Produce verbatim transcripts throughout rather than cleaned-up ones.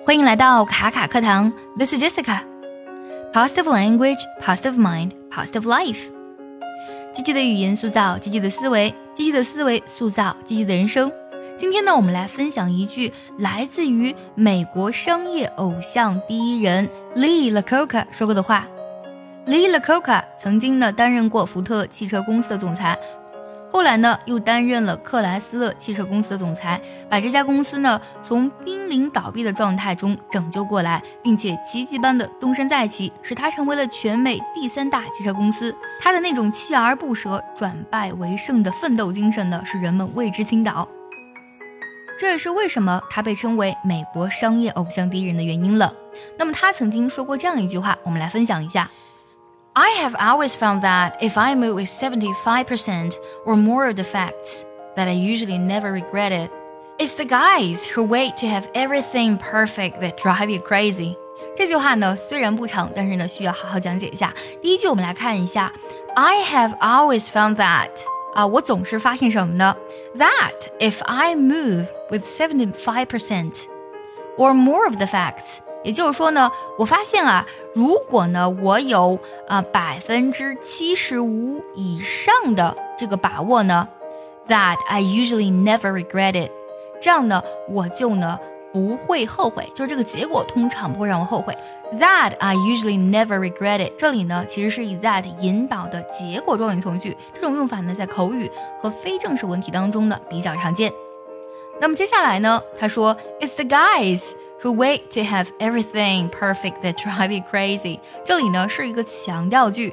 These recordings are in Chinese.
欢迎来到卡卡课堂 This is Jessica Positive language, positive mind, positive life 积极的语言塑造积极的思维，积极的思维塑造积极的人生。今天呢，我们来分享一句来自于美国商业偶像第一人 Lee Iacocca 说过的话。 Lee Iacocca 曾经呢担任过福特汽车公司的总裁，后来呢又担任了克莱斯勒汽车公司的总裁，把这家公司呢从濒临倒闭的状态中拯救过来，并且奇迹般的东山再起，使它成为了全美第三大汽车公司。他的那种锲而不舍转败为胜的奋斗精神呢，是人们为之倾倒。这也是为什么他被称为美国商业偶像第一人的原因了。那么他曾经说过这样一句话，我们来分享一下。I have always found that if I move with seventy-five percent or more of the facts, that I usually never regret it. It's the guys who wait to have everything perfect that drive you crazy. 这句话呢虽然不长，但是呢需要好好讲解一下。第一句我们来看一下 I have always found that 啊，我总是发现什么呢？ That if I move with seventy-five percent or more of the facts, 也就是说呢，我发现啊，如果呢我有啊百分之七十五以上的这个把握呢 ，that I usually never regret it， 这样呢我就呢不会后悔，就是这个结果通常不会让我后悔。That I usually never regret it， 这里呢其实是以 that 引导的结果状语从句，这种用法呢在口语和非正式文体当中呢比较常见。那么接下来呢，他说 It's the guys。who wait to have everything perfect that drive you crazy， 这里呢是一个强调句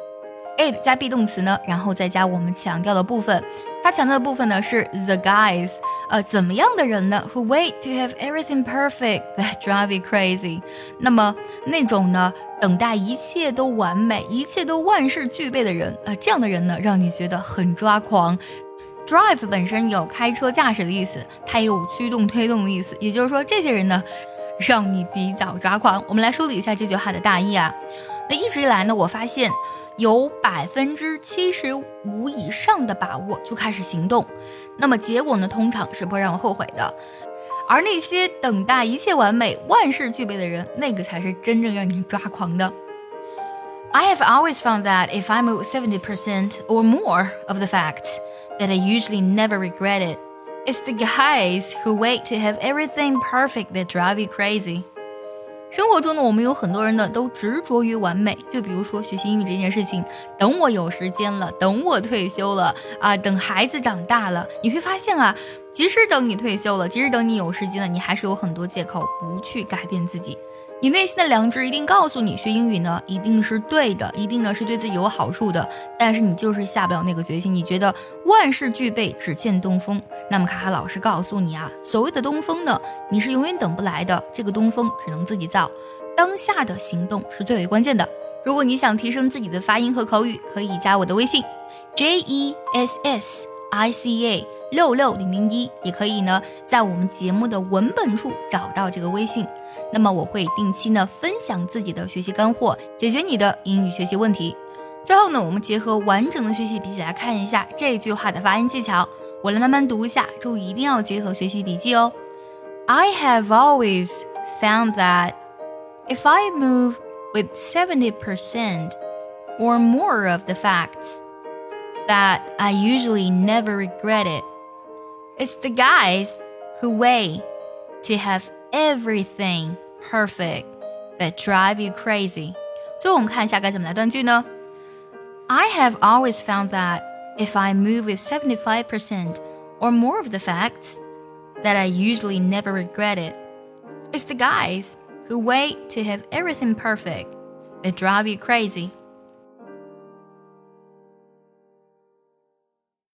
it 加 be 动词呢，然后再加我们强调的部分。它强调的部分呢是 the guys， 呃，怎么样的人呢 who wait to have everything perfect that drive you crazy， 那么那种呢等待一切都完美，一切都万事俱备的人，呃，这样的人呢让你觉得很抓狂。Drive 本身有开车驾驶的意思，它也有驱动推动的意思，也就是说这些人呢让你比较抓狂。我们来梳理一下这句话的大意啊。那一直以来呢，我发现有百分之七十五以上的把握就开始行动，那么结果呢通常是不会让我后悔的。而那些等待一切完美万事俱备的人，那个才是真正让你抓狂的。I have always found that if I move seventy percent or more of the facts, that I usually never regret it. It's the guys who wait to have everything perfect that drive you crazy. 生活中呢，我们有很多人呢都执着于完美，就比如说学习英语这件事情，等我有时间了，等我退休了啊，等孩子长大了，你会发现啊，即使等你退休了，即使等你有时间了，你还是有很多借口不去改变自己。你内心的良知一定告诉你，学英语呢一定是对的，一定呢是对自己有好处的，但是你就是下不了那个决心，你觉得万事俱备只欠东风。那么卡卡老师告诉你啊，所谓的东风呢，你是永远等不来的，这个东风只能自己造，当下的行动是最为关键的。如果你想提升自己的发音和口语，可以加我的微信 J E S S I C A 六六零零一，也可以呢在我们节目的文本处找到这个微信。那么我会定期呢分享自己的学习干货，解决你的英语学习问题。最后呢，我们结合完整的学习笔记来看一下这句话的发音技巧。我来慢慢读一下，注意一定要结合学习笔记哦。I have always found that if I move with seventy percent or more of the facts, that I usually never regret it. It's the guys who wait to have everything perfect that drive you crazy. 最后我们看一下该怎么来断句呢？ I have always found that if I move with seventy-five percent or more of the facts, that I usually never regret it. It's the guys who wait to have everything perfect that drive you crazy.